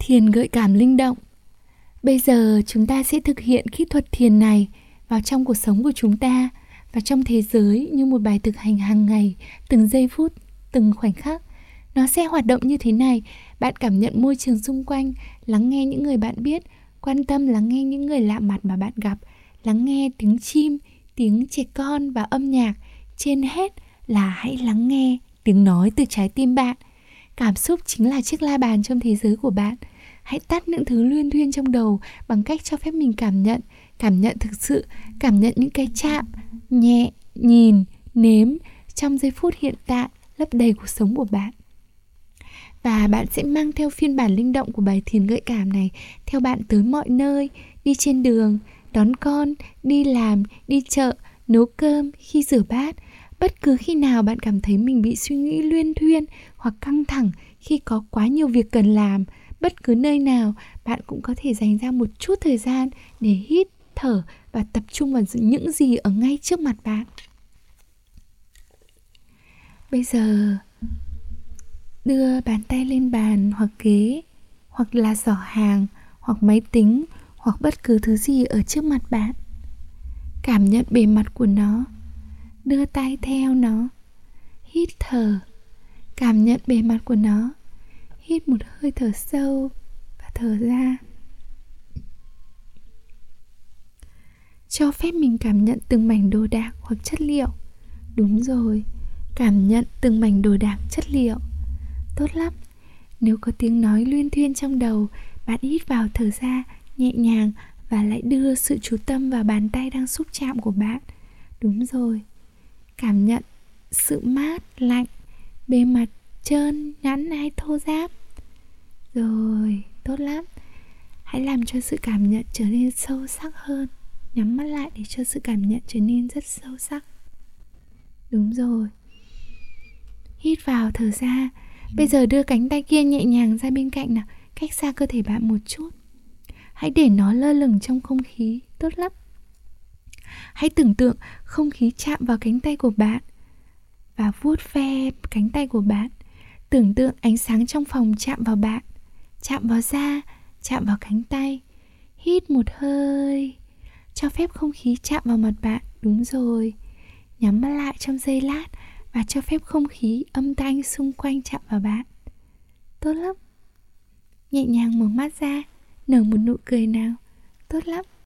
Thiền gợi cảm linh động. Bây giờ chúng ta sẽ thực hiện kỹ thuật thiền này vào trong cuộc sống của chúng ta và trong thế giới như một bài thực hành hàng ngày, từng giây phút, từng khoảnh khắc. Nó sẽ hoạt động như thế này. Bạn cảm nhận môi trường xung quanh, lắng nghe những người bạn biết, quan tâm lắng nghe những người lạ mặt mà bạn gặp, lắng nghe tiếng chim, tiếng trẻ con và âm nhạc. Trên hết là hãy lắng nghe tiếng nói từ trái tim bạn. Cảm xúc chính là chiếc la bàn trong thế giới của bạn. Hãy tắt những thứ luyên thuyên trong đầu bằng cách cho phép mình cảm nhận thực sự, cảm nhận những cái chạm, nhẹ, nhìn, nếm trong giây phút hiện tại lấp đầy cuộc sống của bạn. Và bạn sẽ mang theo phiên bản linh động của bài thiền gợi cảm này theo bạn tới mọi nơi, đi trên đường, đón con, đi làm, đi chợ, nấu cơm, khi rửa bát. Bất cứ khi nào bạn cảm thấy mình bị suy nghĩ luyên thuyên hoặc căng thẳng khi có quá nhiều việc cần làm, bất cứ nơi nào, bạn cũng có thể dành ra một chút thời gian để hít, thở và tập trung vào những gì ở ngay trước mặt bạn. Bây giờ, đưa bàn tay lên bàn hoặc ghế, hoặc là giỏ hàng, hoặc máy tính, hoặc bất cứ thứ gì ở trước mặt bạn. Cảm nhận bề mặt của nó, đưa tay theo nó, hít thở, cảm nhận bề mặt của nó, hít một hơi thở sâu và thở ra. Cho phép mình cảm nhận từng mảnh đồ đạc hoặc chất liệu. Đúng rồi, cảm nhận từng mảnh đồ đạc chất liệu. Tốt lắm. Nếu có tiếng nói luyên thuyên trong đầu, bạn hít vào thở ra nhẹ nhàng và lại đưa sự chú tâm vào bàn tay đang xúc chạm của bạn. Đúng rồi. Cảm nhận sự mát, lạnh, bề mặt trơn, nhẵn hay thô ráp. Rồi, tốt lắm. Hãy làm cho sự cảm nhận trở nên sâu sắc hơn. Nhắm mắt lại để cho sự cảm nhận trở nên rất sâu sắc. Đúng rồi. Hít vào thở ra. Bây giờ đưa cánh tay kia nhẹ nhàng ra bên cạnh nào, cách xa cơ thể bạn một chút. Hãy để nó lơ lửng trong không khí. Tốt lắm. Hãy tưởng tượng không khí chạm vào cánh tay của bạn và vuốt ve cánh tay của bạn. Tưởng tượng ánh sáng trong phòng chạm vào bạn, chạm vào da, chạm vào cánh tay. Hít một hơi, cho phép không khí chạm vào mặt bạn. Đúng rồi. Nhắm mắt lại trong giây lát và cho phép không khí, âm thanh xung quanh chạm vào bạn. Tốt lắm. Nhẹ nhàng mở mắt ra, nở một nụ cười nào. Tốt lắm.